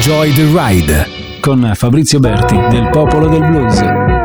Enjoy the Ride con Fabrizio Berti del Popolo del Blues.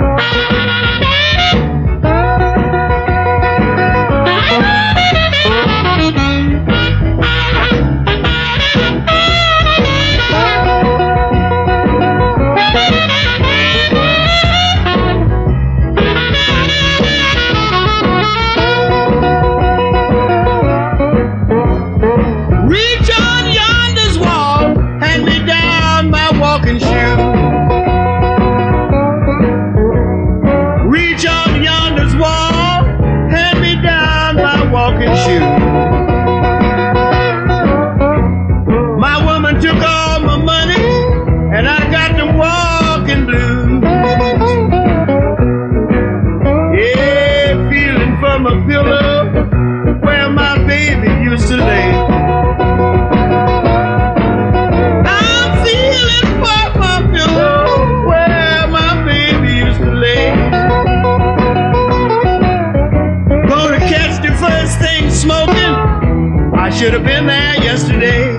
Should have been there yesterday.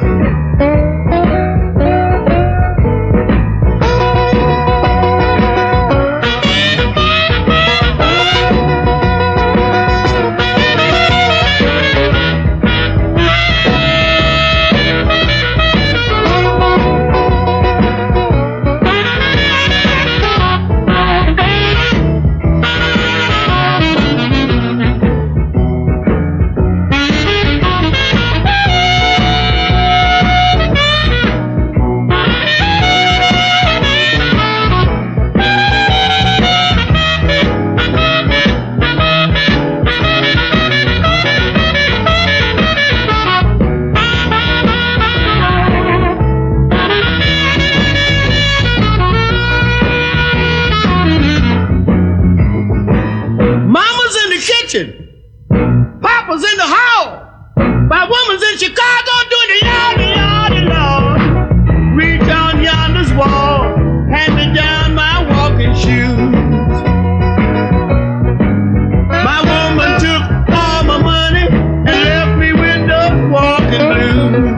Papa's in the hall. My woman's in Chicago doing the yardie, Lord. Reach on yonder's wall, hand me down my walking shoes. My woman took all my money and left me with those walking blues.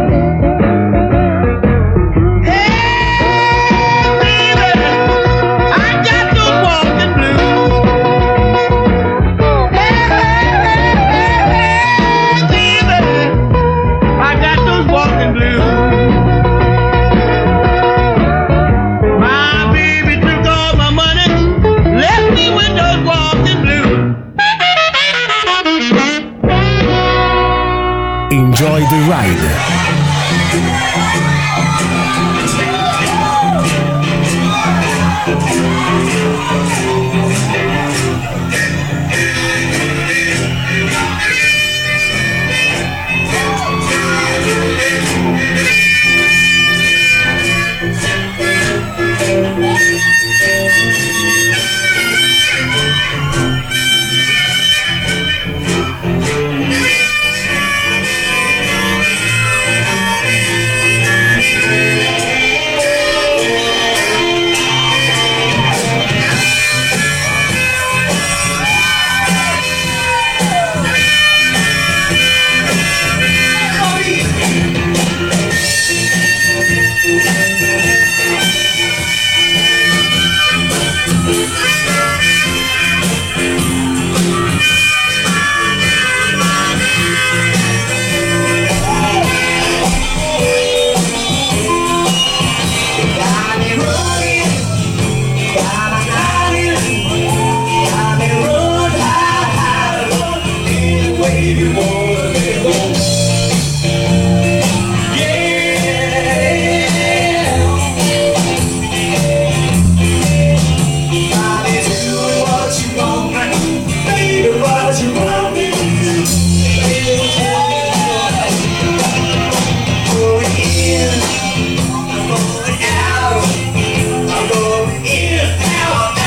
Enjoy the Ride.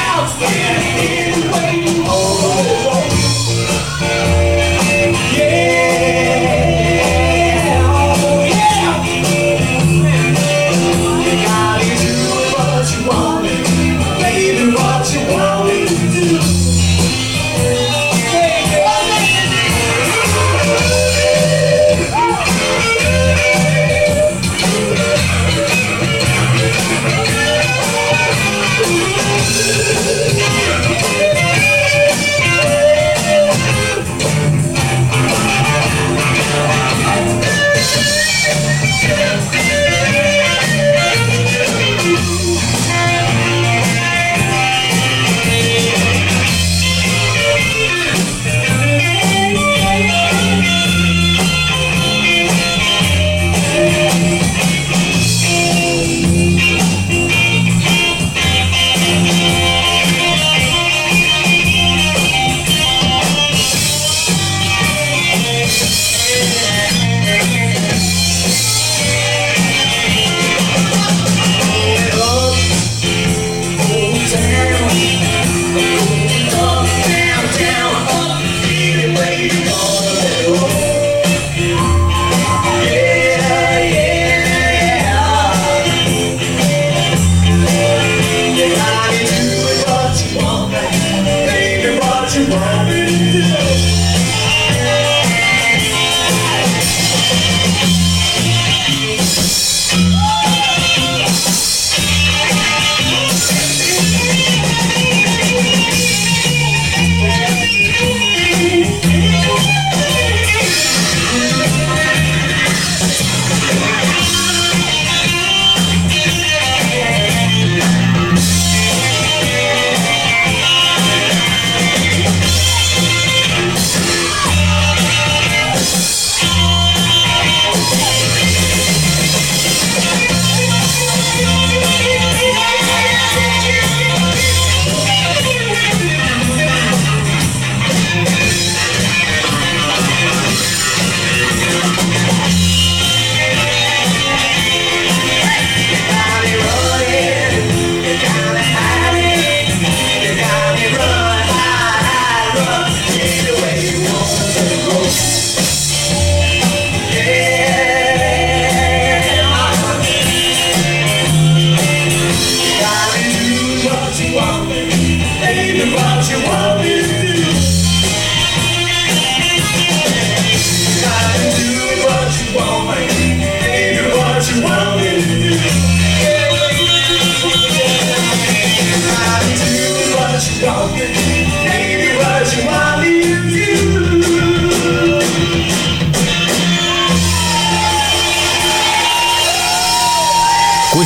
Yeah.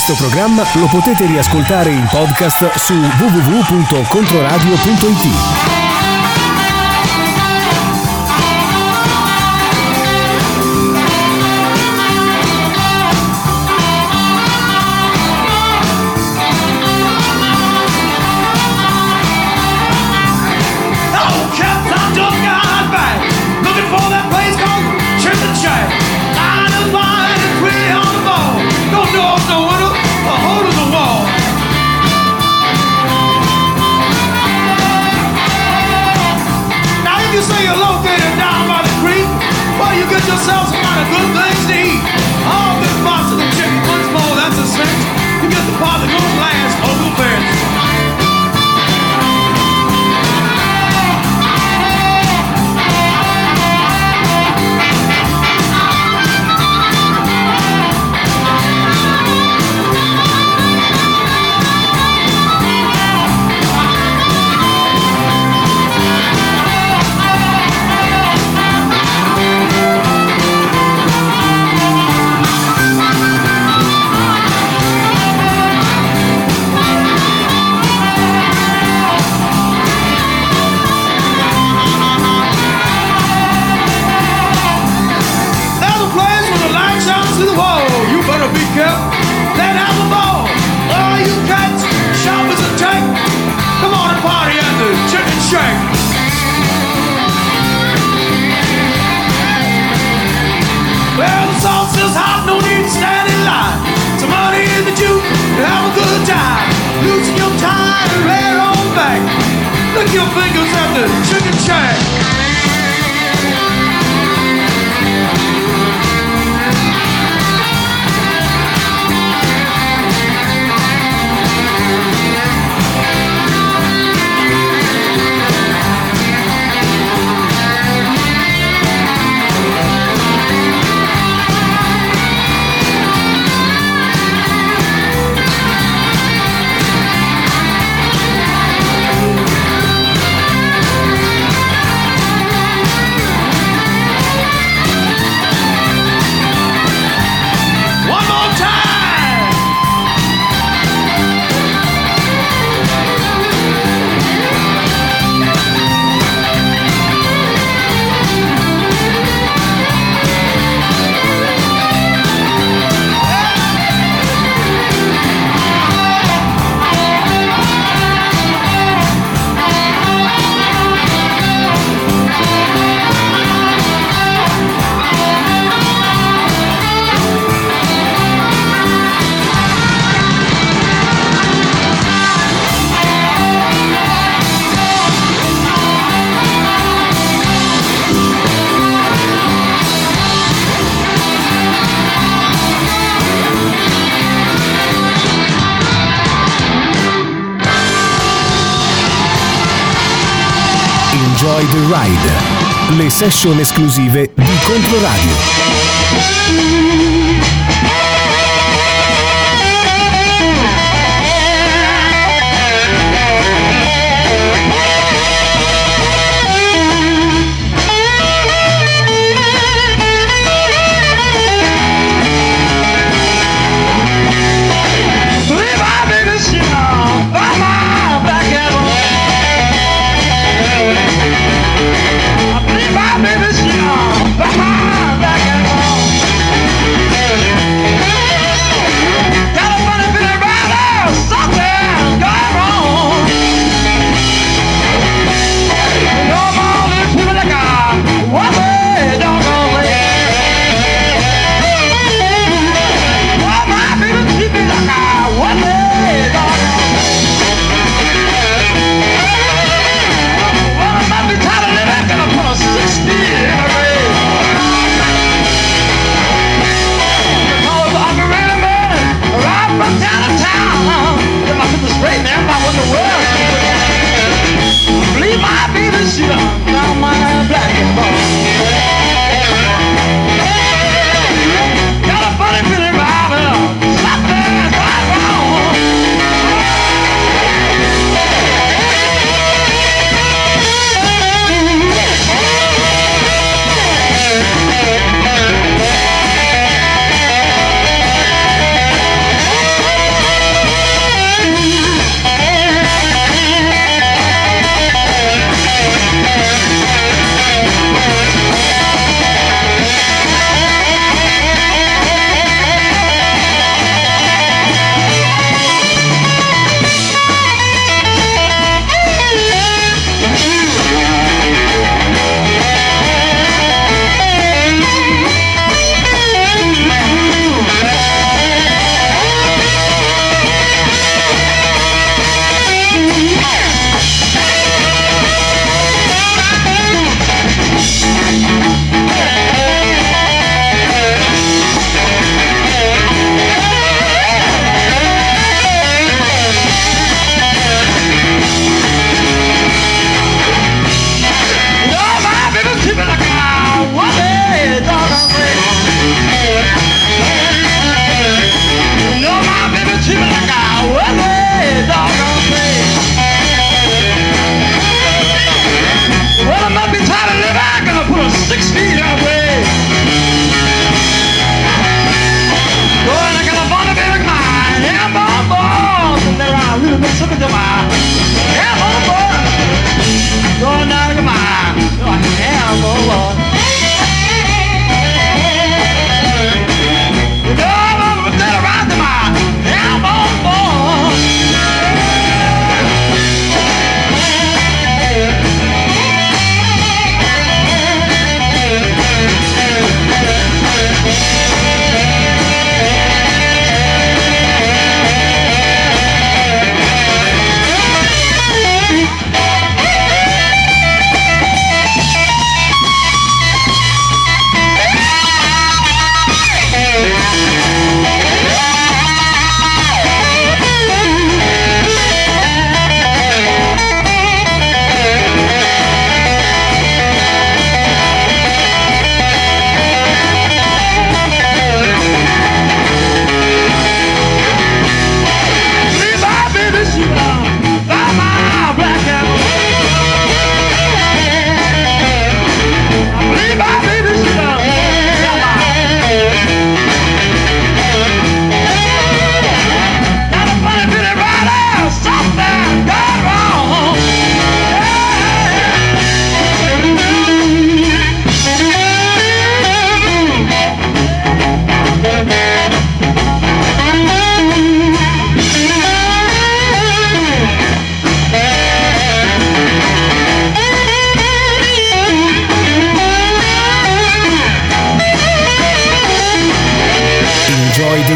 Questo programma lo potete riascoltare in podcast su www.controradio.it. Yourself some kind of good things to eat. All good parts of the chicken, once more, that's a cinch. You get the part that goes last over the fence. Well, the sauce is hot, no need to stand in line. Some money in the juke, have a good time. Loosen your tie and lay it on back. Lick your fingers at the chicken shack. Enjoy the Ride, le session esclusive di Controradio. Baby, she on, back and on.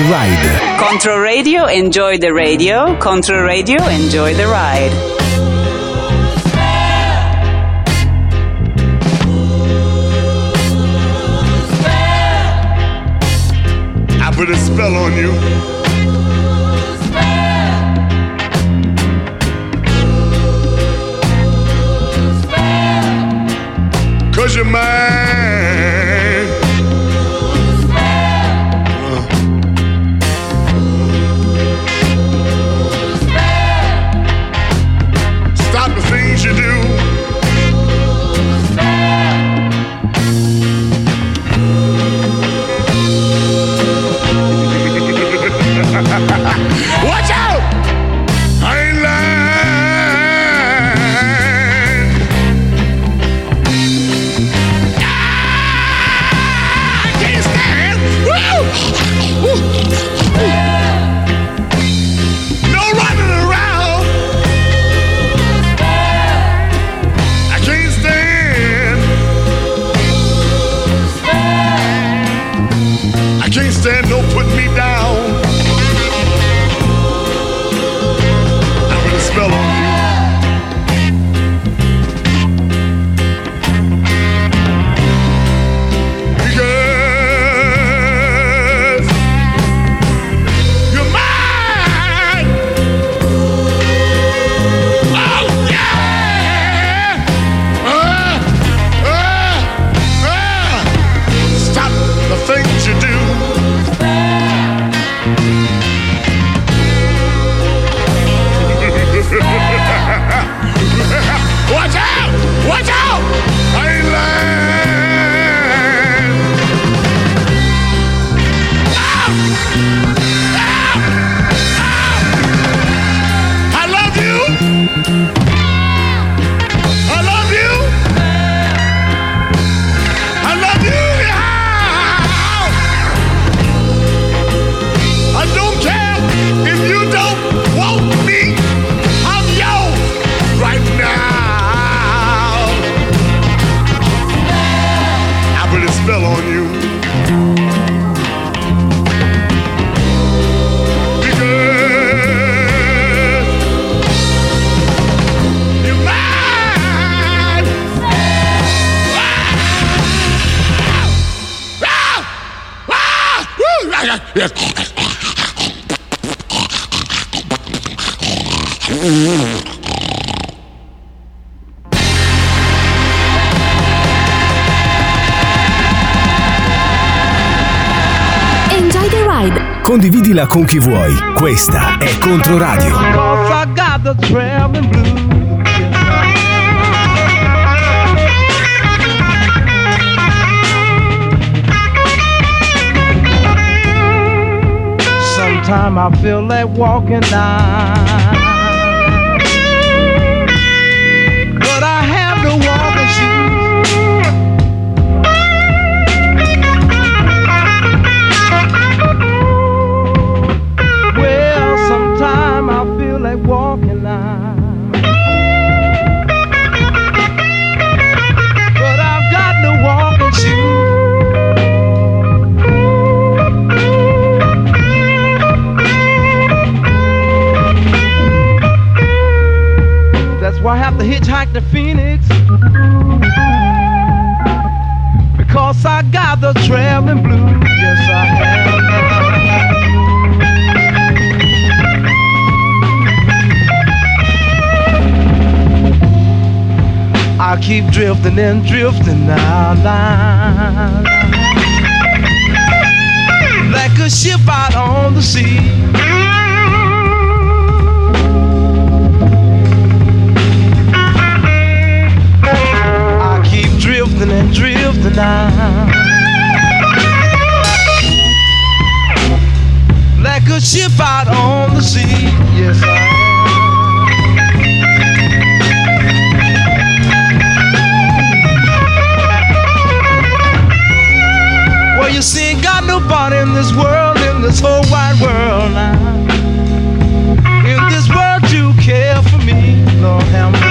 Ride. Control Radio, enjoy the radio. Control Radio, enjoy the ride. I put a spell on you. Cause you're mine. Stop the things you do. Watch out! I ain't lying. I can't stand. Woo! No running around. I can't stand. I can't stand no putting me down. Spell on you. Because you're mine. Oh yeah. Stop the things you do. Watch out! Watch out! I ain't lying. Ah! Ah! Ah! I love you. I love you. I love you. Yeah. I don't care if you don't want me. I'm yours right now. I put a spell on you. Because you're mine. Enjoy the ride. Condividila con chi vuoi. Questa è Controradio. Cause I got the traveling blues. Sometimes I feel like walking down, but I have no walking shoes. Well, sometimes I feel like walking down, but I've got no walking shoes. That's why I have to hitchhike to Phoenix, because I got the traveling blues. Yes, I have. I keep drifting and drifting now, like a ship out on the sea. Drifting and drifting now, like a ship out on the sea. Yes, I am. Well, you see, ain't got nobody in this world, in this whole wide world now, in this world to care for me. Lord have mercy.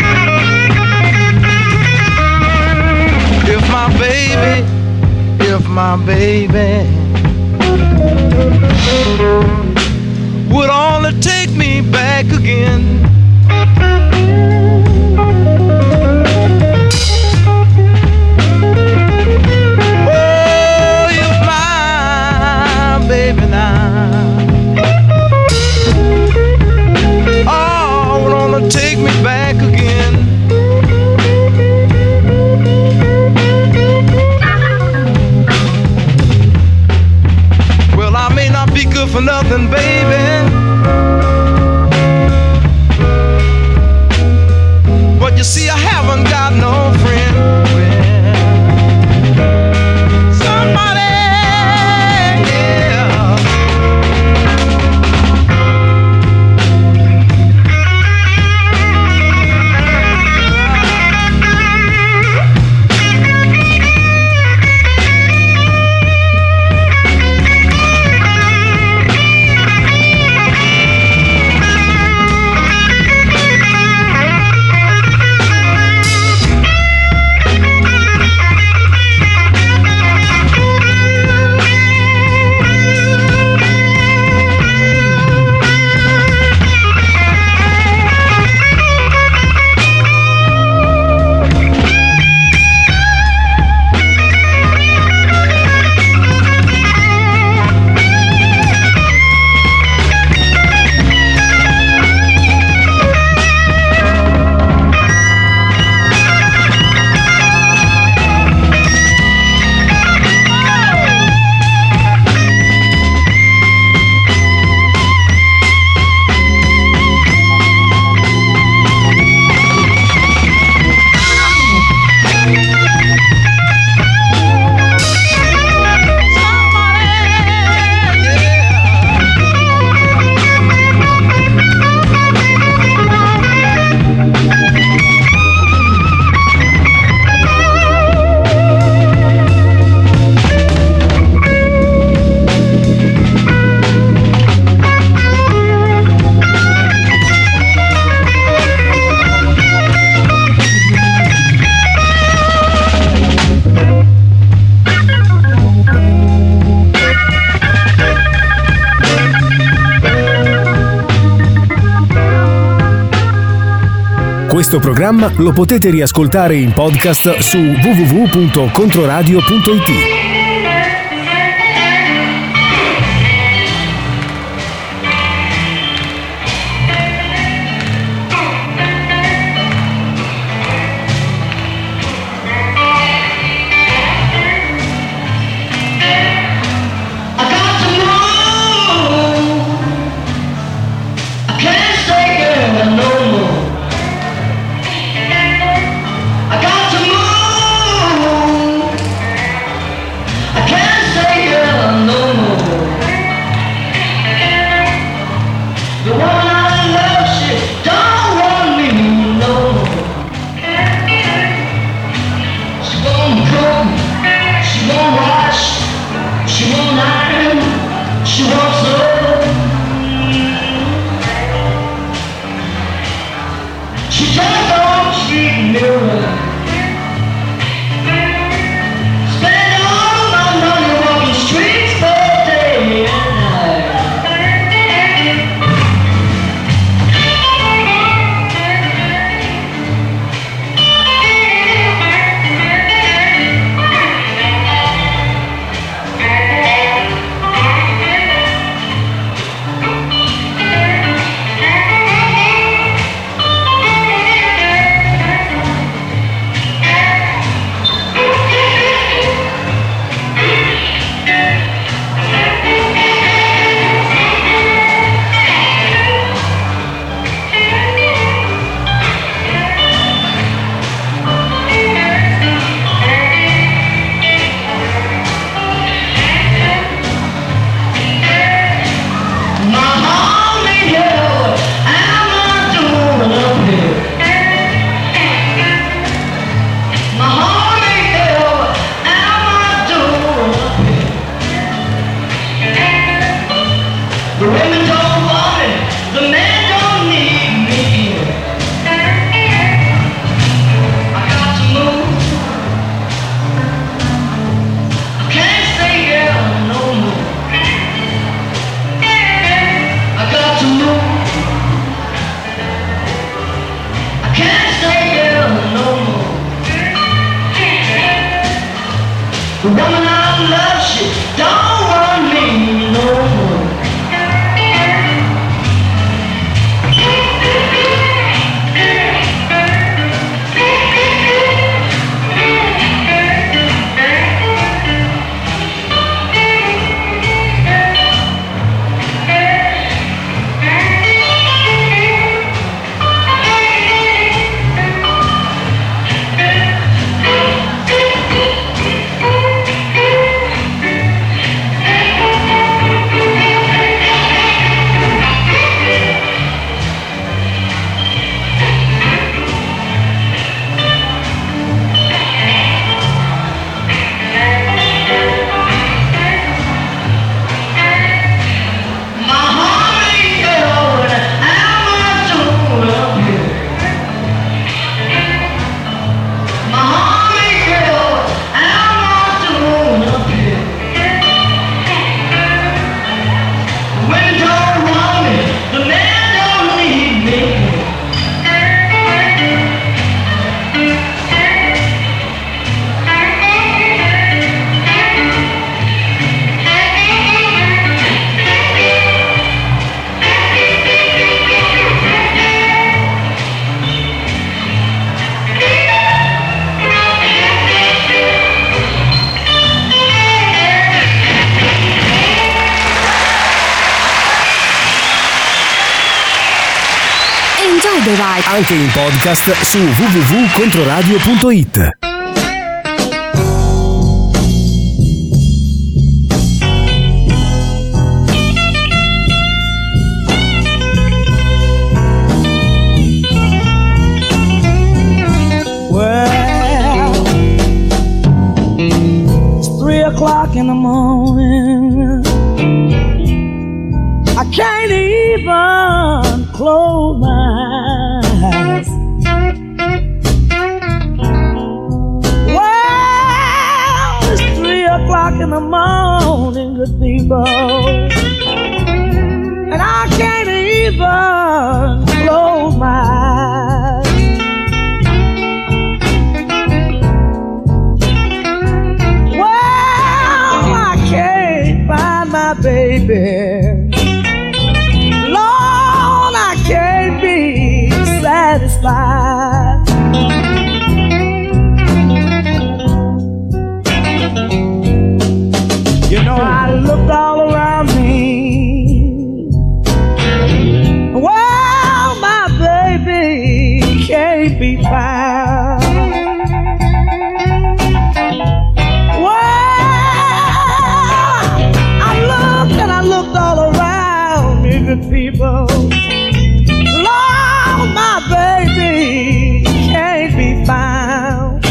If my baby would only take me back again. Oh, you're my baby now. Oh, would only take me back again. Well, I may not be good for nothing, baby, but you see, I haven't got no friend. Somebody, yeah. Questo programma lo potete riascoltare in podcast su www.controradio.it. The woman I love, she don't want me no more. Anche in podcast su www.controradio.it. Well, it's 3 o'clock in the morning. I can't even close my eyes. Well, it's 3 o'clock in the morning, good people, and I can't even close my eyes. Well, I can't find my baby. Can't be satisfied. You know, I looked all around me. Well, my baby can't be found. Well, I looked and I looked all around me, good people. My baby can't be found.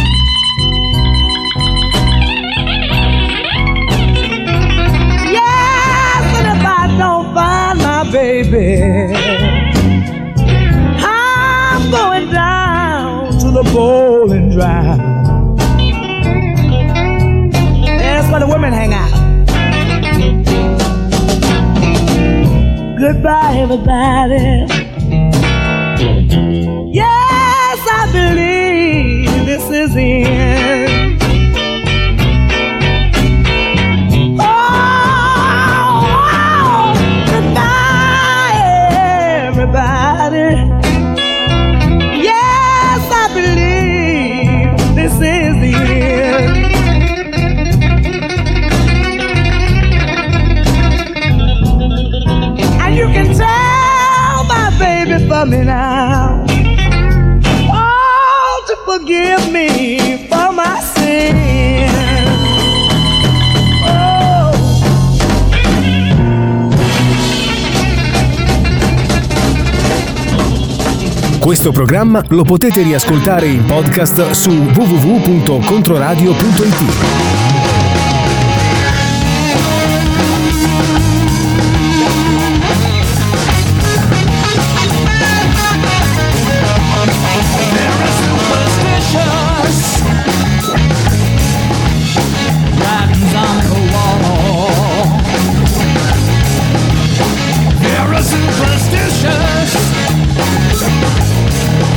Yes, and if I don't find my baby, I'm going down to the bowling drive. That's where the women hang out. Goodbye, everybody. Yes, I believe this is the end. Oh, goodbye, everybody. Yes, I believe this is the end. And you can tell my baby for me now. Forgive me for my sin. Oh. Questo programma lo potete riascoltare in podcast su www.controradio.it.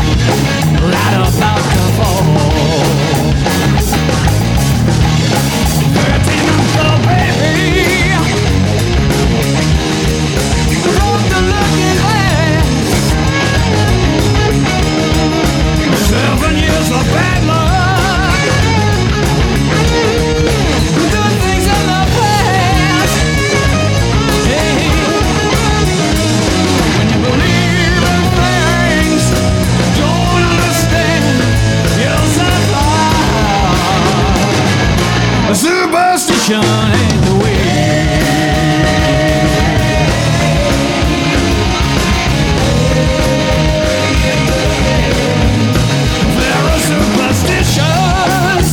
Right about to fall. Superstition ain't the way. There are superstitions.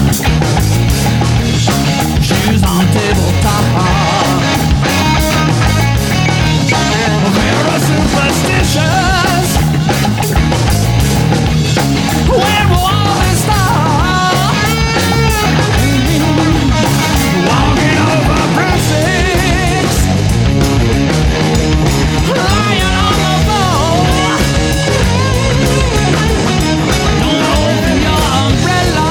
Shoes on tabletop. There are superstitions. When will all this stop? Walking over precincts, lying on the floor. Don't open your umbrella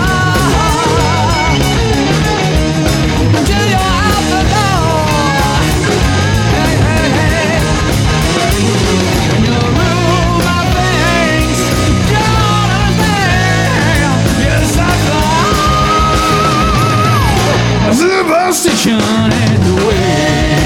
until you're out the door. Hey, hey, hey. In your room of things, you don't understand. Yes, I thought superstition ain't the way.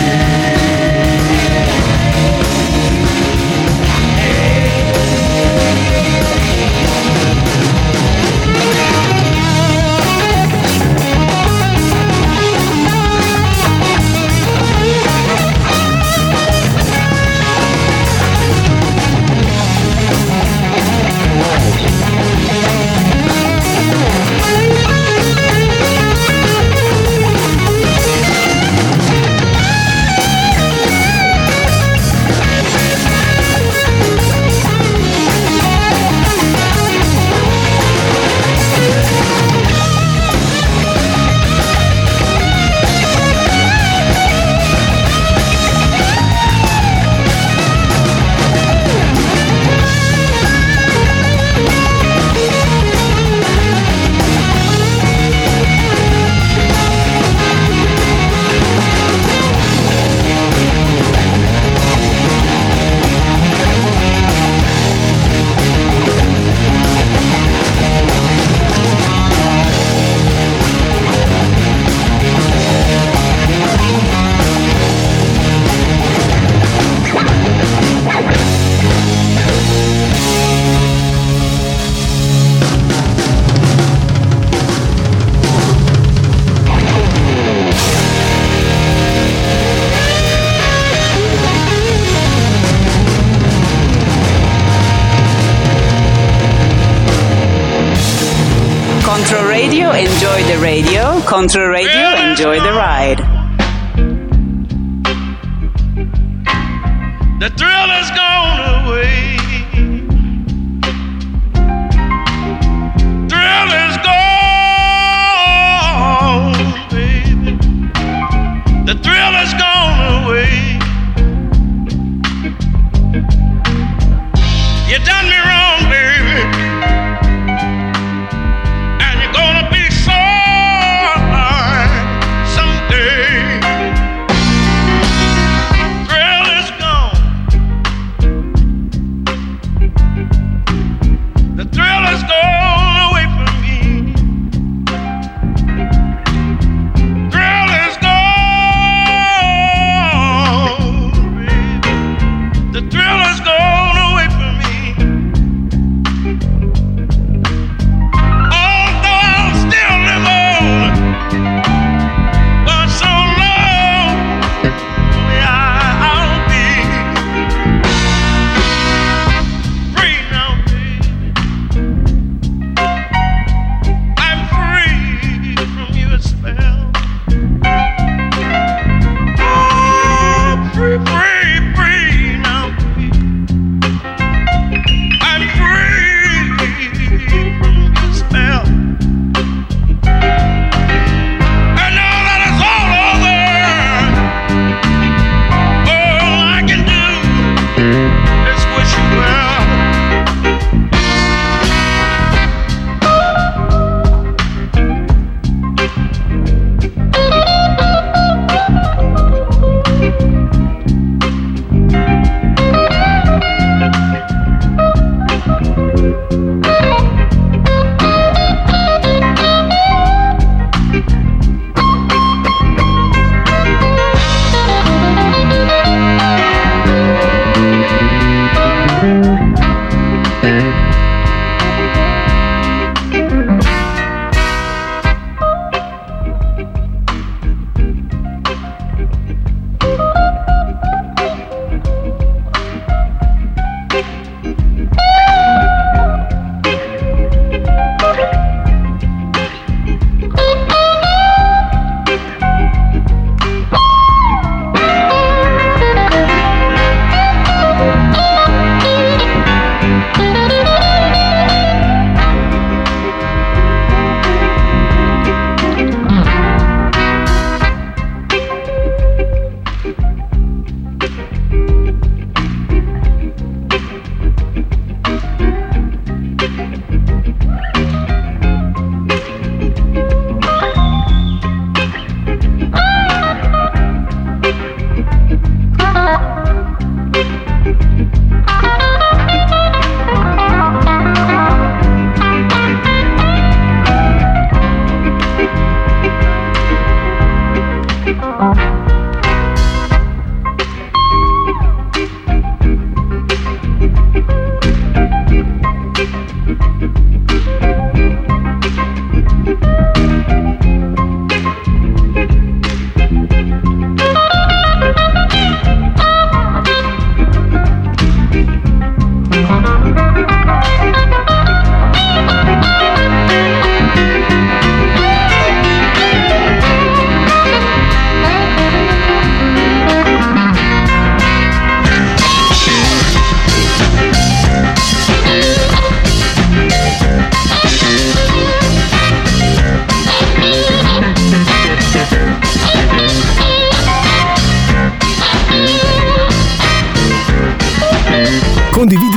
Control Radio, enjoy the radio. Control Radio, enjoy the ride. The thrill has gone away. Thrill is gone, baby. The thrill has gone away. You done me wrong, baby. And you're gonna be sorry someday. Thrill is gone. The thrill has gone away from me.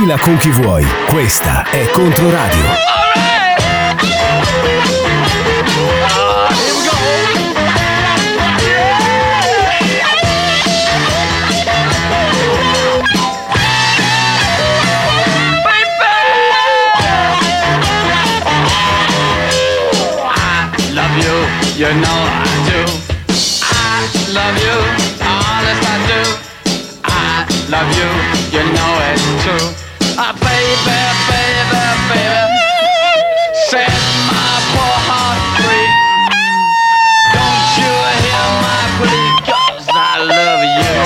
Balla con chi vuoi. Questa è Controradio. You know I do. I love you, honest I do. I love you, you know it's true. Baby, baby, baby, set my poor heart free. Don't you hear my plea, 'cause I love you.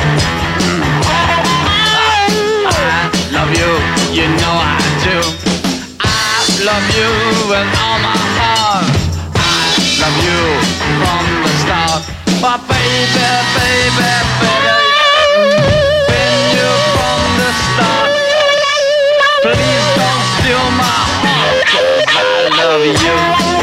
I love you, you know I do. I love you with all my heart. Love you from the start. But baby, baby, baby, been you from the start. Please don't steal my heart, 'cause I love you.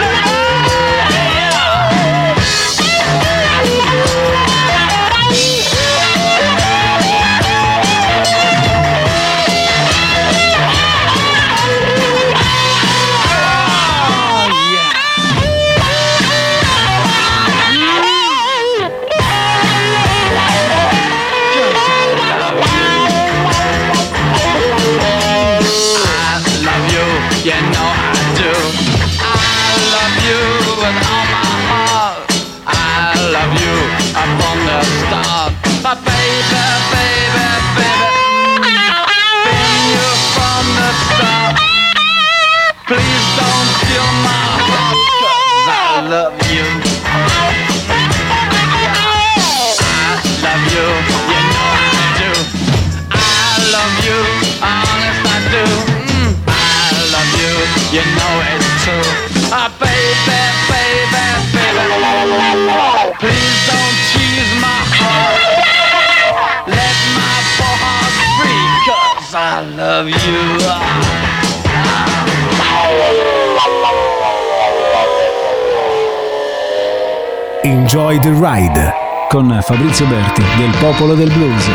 You know I do. I love you with all my heart. I love you up from the start. But baby, baby, baby, been you from the start. Please don't steal my heart, 'cause I love you. I love you, you know I do. I love you, honest I do. You know it's true. Baby, baby, baby, please don't tease my heart. Let my poor heart free, 'cause I love you. Enjoy the Ride con Fabrizio Berti del Popolo del Blues.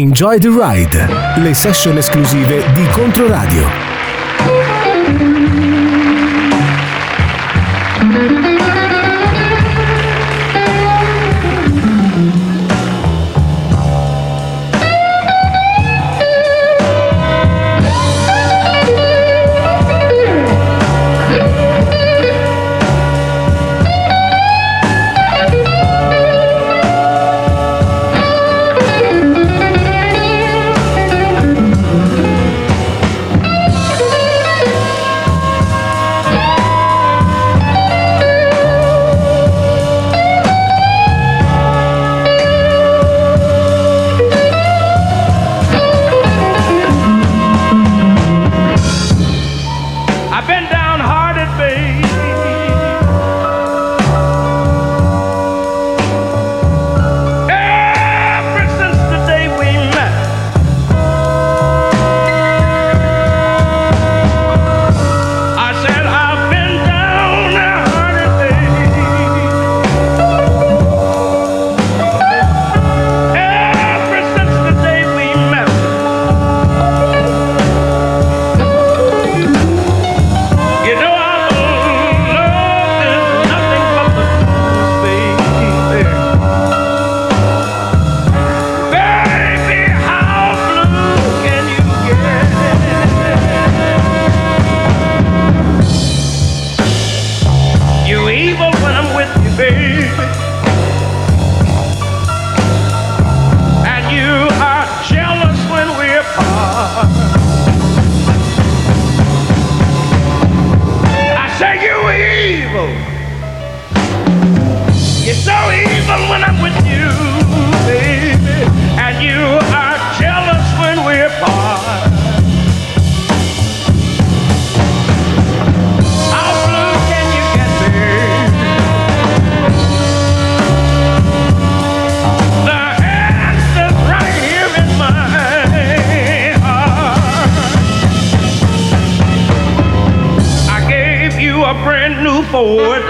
Enjoy the Ride, le session esclusive di Controradio. Ford,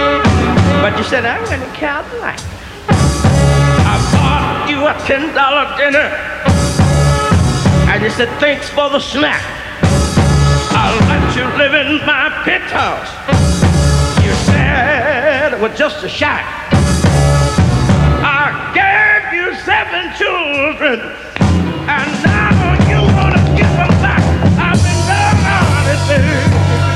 but you said I went to Cadillac. I bought you a $10 dinner, and you said thanks for the snack. I'll let you live in my penthouse. You said it was just a shack. I gave you 7 children, and now you wanna give them back. I've been down on it, baby.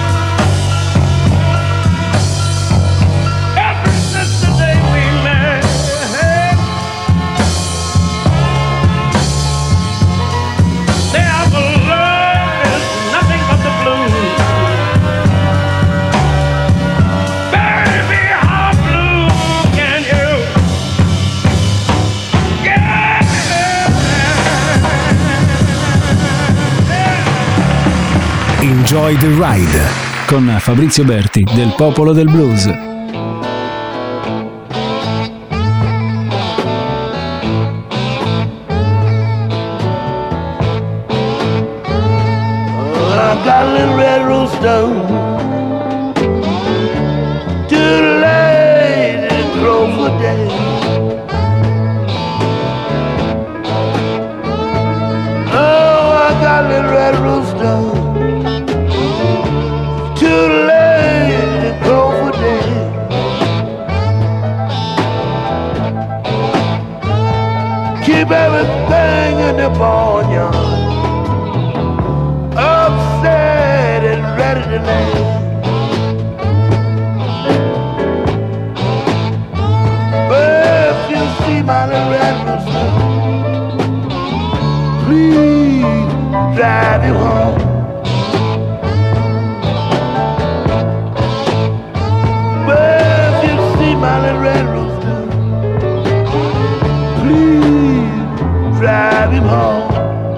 Enjoy the Ride con Fabrizio Berti del Popolo del Blues. I got a little red rooster too late to crow for day. Oh, I got a little red rooster too late to crow for day. Keep everything in the barnyard upset and ready to lay. But if you see my little red rooster, please drive you home. But if you see my little red rooster, please drive him home.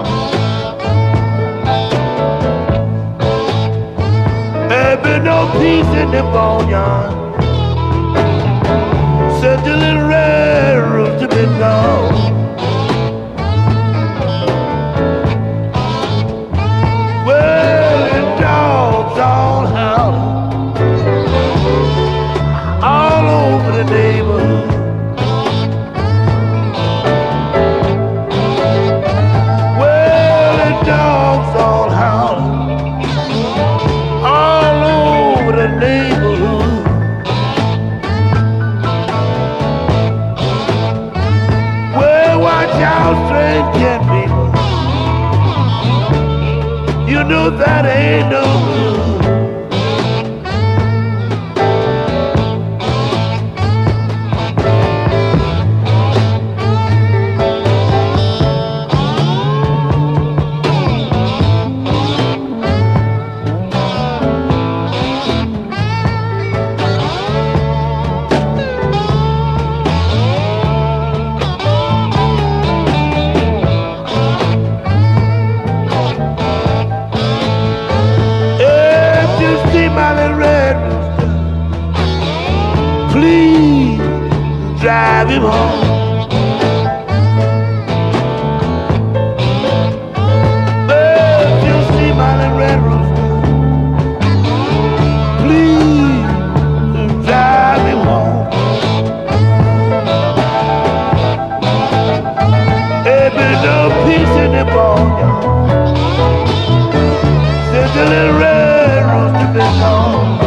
No peace in the boneyard since the little red rooster been gone. Well, the dogs all howling all over the neighborhood. Well, that ain't no good. Drive him home. But you see my red rooster, please drive him home. There be no peace in the barnyard since the little red rooster been gone.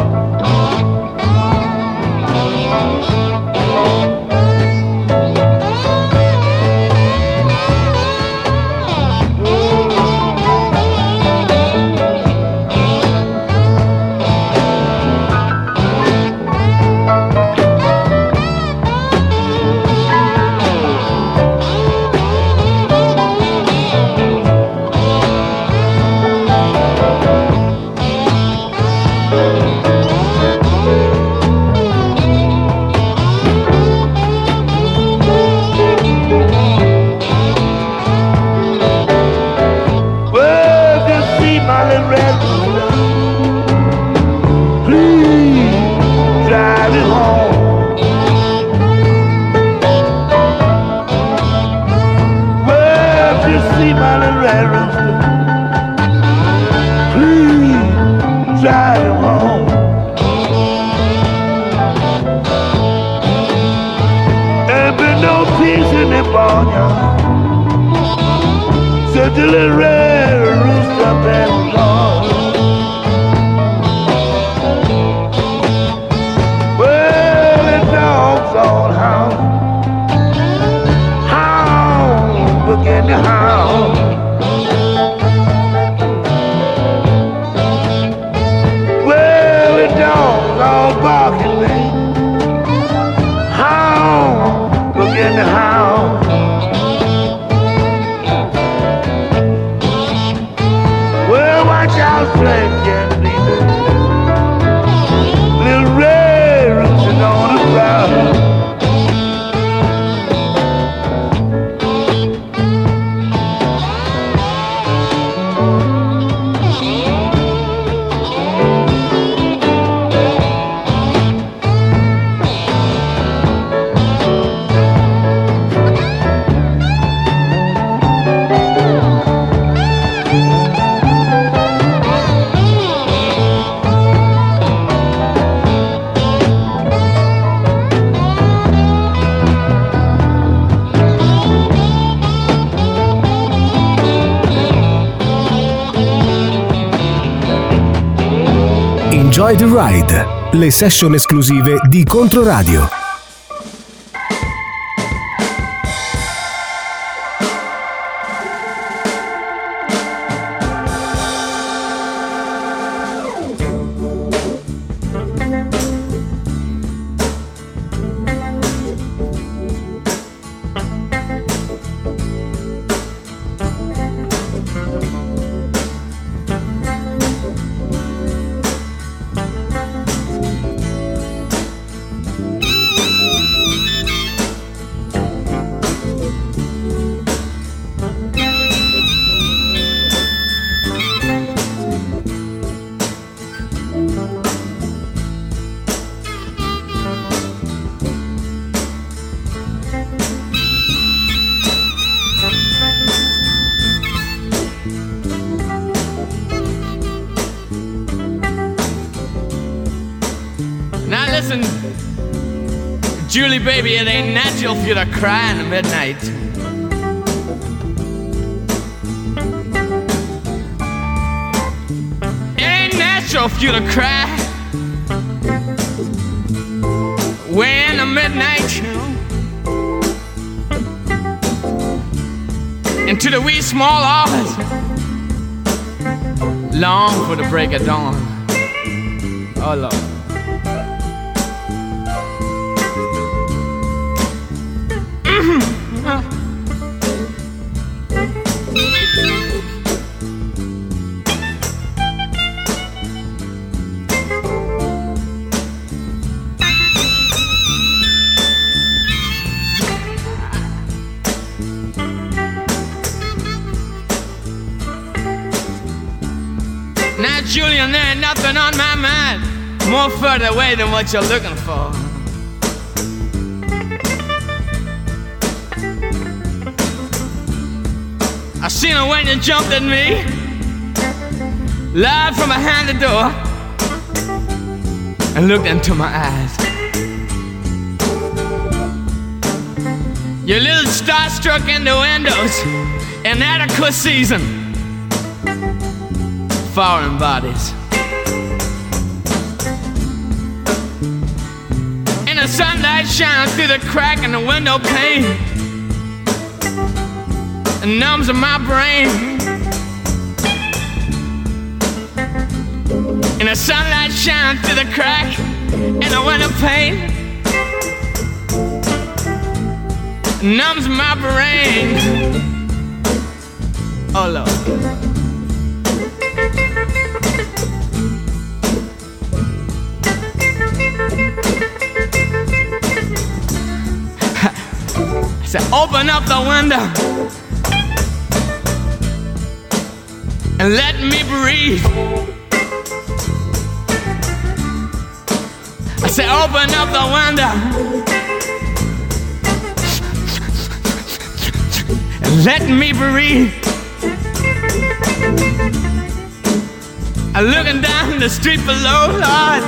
Such a little red rooster been gone. Well, the dogs all hound, begin to hound. Well, the dogs all barking, hound, begin to hound. Strength can be there. Little red roosting on the ground. Enjoy the Ride, le session esclusive di Controradio. Listen, Julie, baby, it ain't natural for you to cry in the midnight. It ain't natural for you to cry way in the midnight, you know. Into the wee small hours long for the break of dawn. Oh Lord. Now, Julian, there ain't nothing on my mind more further away than what you're looking for. I seen her when you jumped at me, live from behind the door, and looked into my eyes. You're a little starstruck in the windows, inadequate season, foreign bodies. And the sunlight shines through the crack in the window pane and numbs in my brain. And the sunlight shines through the crack in the window pane and numbs my brain. Oh Lord. I said, open up the window and let me breathe. I said, open up the window and let me breathe. I'm looking down the street below, Lord.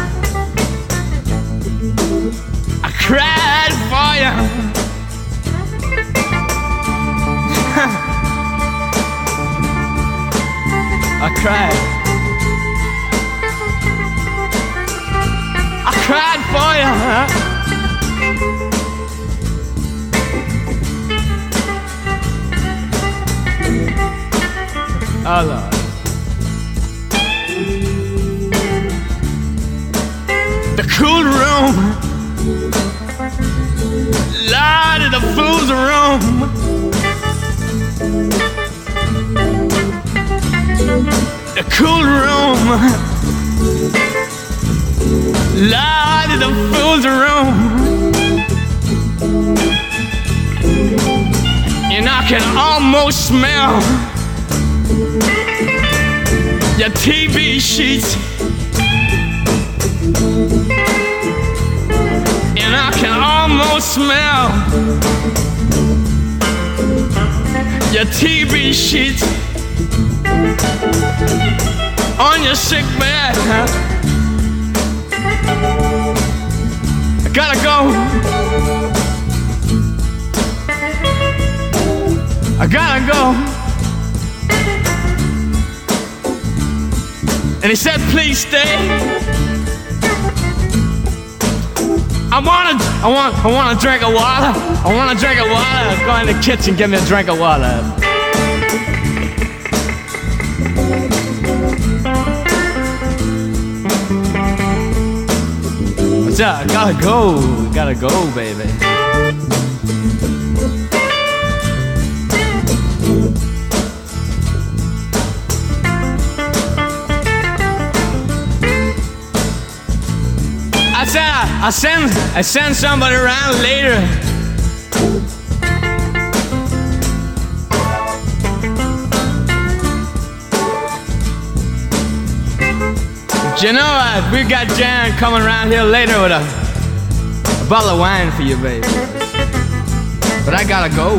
I cried for you. I cried. I cried for you. Oh Lord. The cool room, Lord, of the fool's room. The cool room, Lord, of the fool's room. And I can almost smell your TV sheets. And I can almost smell your TV sheets on your sick bed. I gotta go. I gotta go. And he said, please stay. I want a drink of water. I want a drink of water. Go in the kitchen, get me a drink of water. I gotta go, baby. I send somebody around later. But you know, we got Jan coming around here later with a bottle of wine for you, baby. But I gotta go.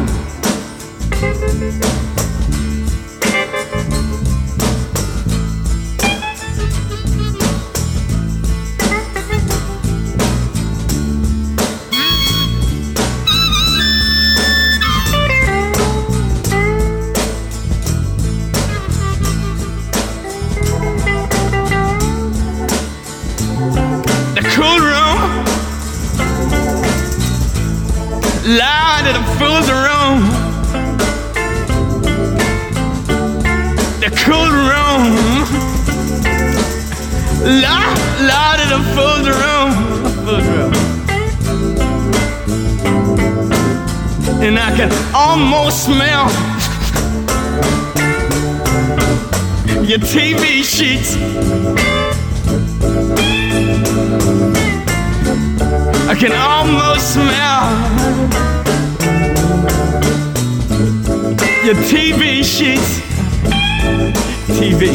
Loud in the fool's room. La in a fool's room. And I can almost smell your TV sheets. I can almost smell your TV sheets. TV.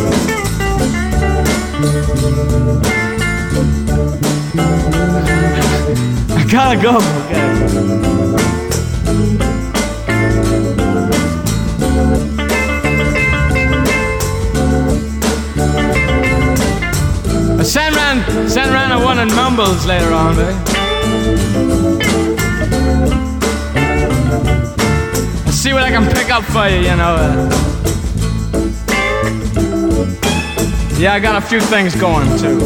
I gotta go. Send round a one in Mumbles later on, babe. I'll see what I can pick up for you, you know. Yeah, I got a few things going, too.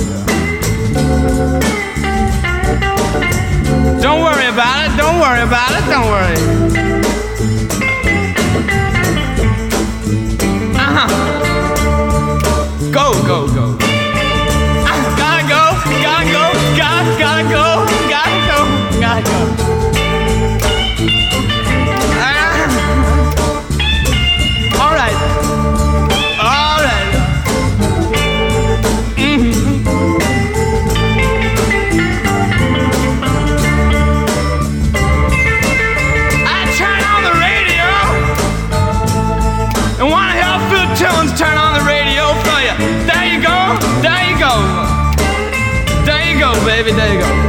Don't worry about it, don't worry about it, don't worry. Go, go, go. Gotta go, gotta go, gotta go, gotta go, gotta go. All right, all right. I turn on the radio and wanna hear Phil Tillins turn on the radio for you. There you go, there you go. There you go, baby, there you go.